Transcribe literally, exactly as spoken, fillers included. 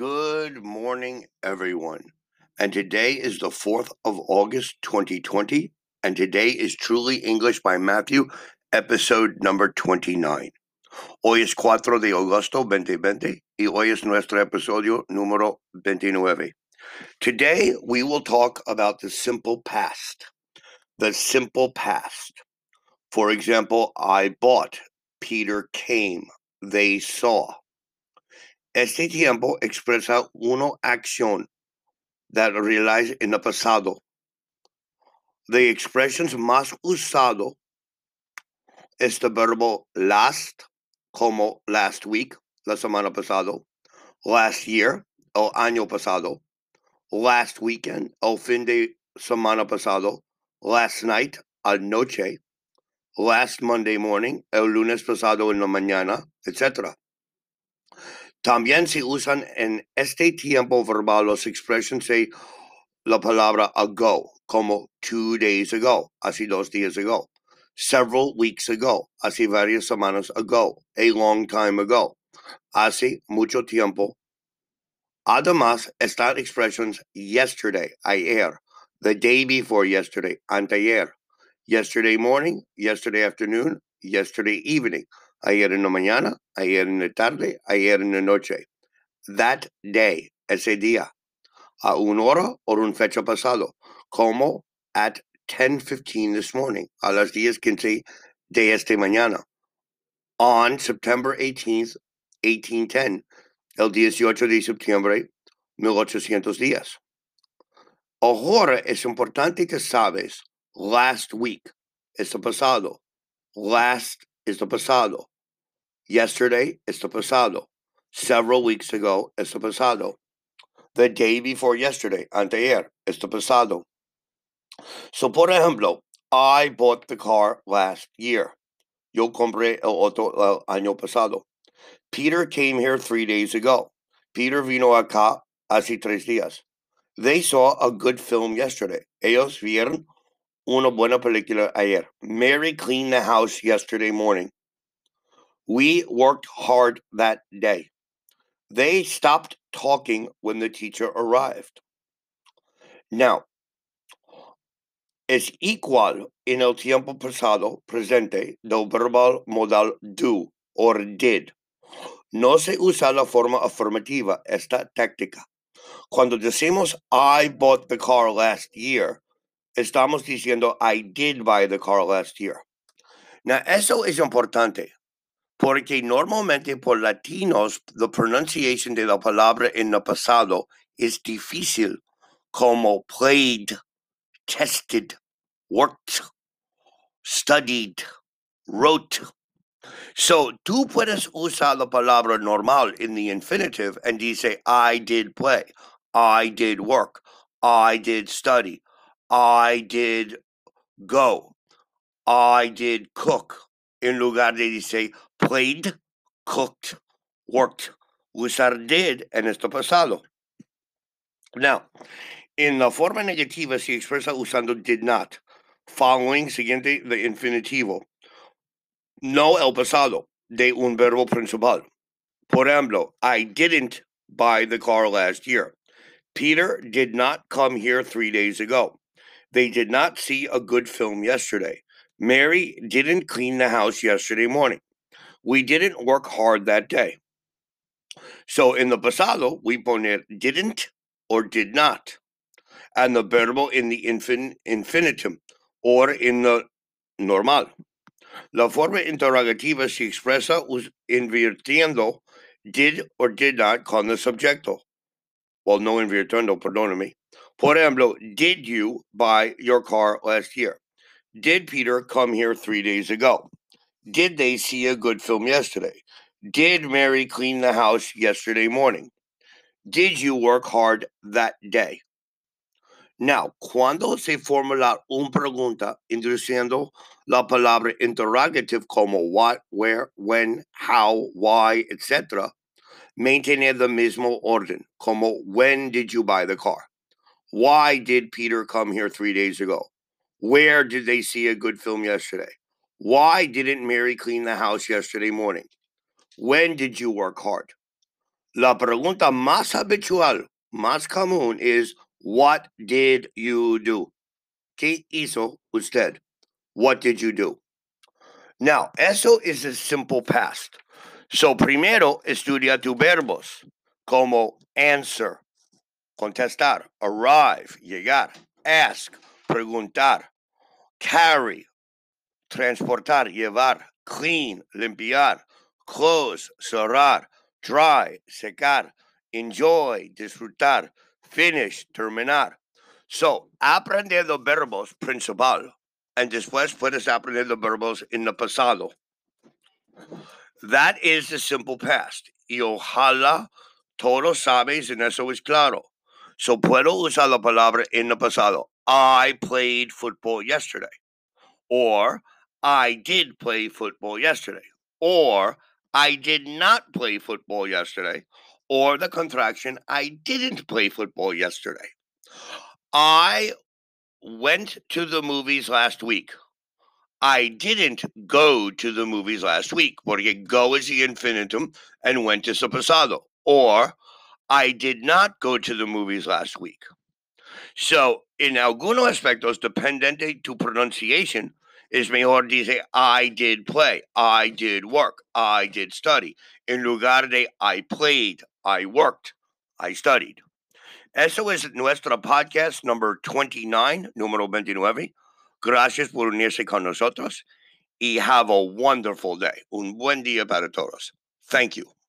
Good morning, everyone. And today is the fourth of August, twenty twenty. And today is Truly English by Matthew, episode number twenty-nine. Hoy es cuatro de agosto, veinte veinte, y hoy es nuestro episodio número veintinueve. Today, we will talk about the simple past. The simple past. For example, I bought, Peter came, they saw. Este tiempo expresa una acción that realized in the pasado. The expressions más usado es the verbo last, como last week, la semana pasado, last year, el año pasado, last weekend, el fin de semana pasado, last night, anoche, last Monday morning, el lunes pasado en la mañana, etcétera. También se usan en este tiempo verbal las expresiones de la palabra ago, como two days ago, así dos días ago, several weeks ago, así varias semanas ago, a long time ago, hace mucho tiempo. Además, están expressions yesterday, ayer, the day before yesterday, anteayer, yesterday morning, yesterday afternoon, yesterday evening, ayer en la mañana, ayer en la tarde, ayer en la noche. That day, ese día, a una hora o una fecha pasado, como at ten fifteen this morning, a las diez quince de esta mañana. On September eighteenth, eighteen ten, el dieciocho de septiembre, mil ochocientos diez. Ahora es importante que sabes, last week es the pasado, last is the pasado, yesterday is the pasado, several weeks ago es the pasado, the day before yesterday, anteayer, es the pasado. So, por ejemplo, I bought the car last year. Yo compré el auto el año pasado. Peter came here three days ago. Peter vino acá hace tres días. They saw a good film yesterday. Ellos vieron una buena película ayer. Mary cleaned the house yesterday morning. We worked hard that day. They stopped talking when the teacher arrived. Now, es igual en el tiempo pasado presente del verbal modal do or did. No se usa la forma afirmativa esta táctica. Cuando decimos I bought the car last year, estamos diciendo I did buy the car last year. Now, eso es importante porque normalmente por latinos la pronunciación de la palabra en el pasado es difícil, como played, tested, worked, studied, wrote. So, tú puedes usar la palabra normal in the infinitive and dice, I did play, I did work, I did study, I did go, I did cook. En lugar de dice, played, cooked, worked. Usar did en este pasado. Now, en la forma negativa se expresa usando did not. Following, siguiente, the infinitivo. No el pasado de un verbo principal. Por ejemplo, I didn't buy the car last year. Peter did not come here three days ago. They did not see a good film yesterday. Mary didn't clean the house yesterday morning. We didn't work hard that day. So in the pasado, we poner didn't or did not. And the verbo in the infin- infinitum or in the normal. La forma interrogativa se expresa invirtiendo did or did not con el subjecto. Well, no invirtiendo, perdóname. Por ejemplo, did you buy your car last year? Did Peter come here three days ago? Did they see a good film yesterday? Did Mary clean the house yesterday morning? Did you work hard that day? Now, cuando se formula una pregunta introduciendo la palabra interrogative como what, where, when, how, why, etcétera, mantener the mismo orden, como when did you buy the car? Why did Peter come here three days ago? Where did they see a good film yesterday? Why didn't Mary clean the house yesterday morning? When did you work hard? La pregunta más habitual, más común is, what did you do? ¿Qué hizo usted? What did you do? Now, eso is a simple past. So, primero estudia tus verbos, como answer, contestar, arrive, llegar, ask, preguntar, carry, transportar, llevar, clean, limpiar, close, cerrar, dry, secar, enjoy, disfrutar, finish, terminar. So, aprender los verbos principal, and después puedes aprender los verbos en el pasado. That is the simple past. Y ojalá todos sabes en eso es claro. So, puedo usar la palabra en el pasado. I played football yesterday. Or, I did play football yesterday. Or, I did not play football yesterday. Or the contraction, I didn't play football yesterday. I went to the movies last week. I didn't go to the movies last week, porque go is the infinitum and went is the pasado. Or, I did not go to the movies last week. So, en algunos aspectos, dependente tu pronunciation, es mejor dice I did play, I did work, I did study, en lugar de I played, I worked, I studied. Eso es nuestro podcast number twenty-nine, número veintinueve. Gracias por unirse con nosotros. Y have a wonderful day. Un buen día para todos. Thank you.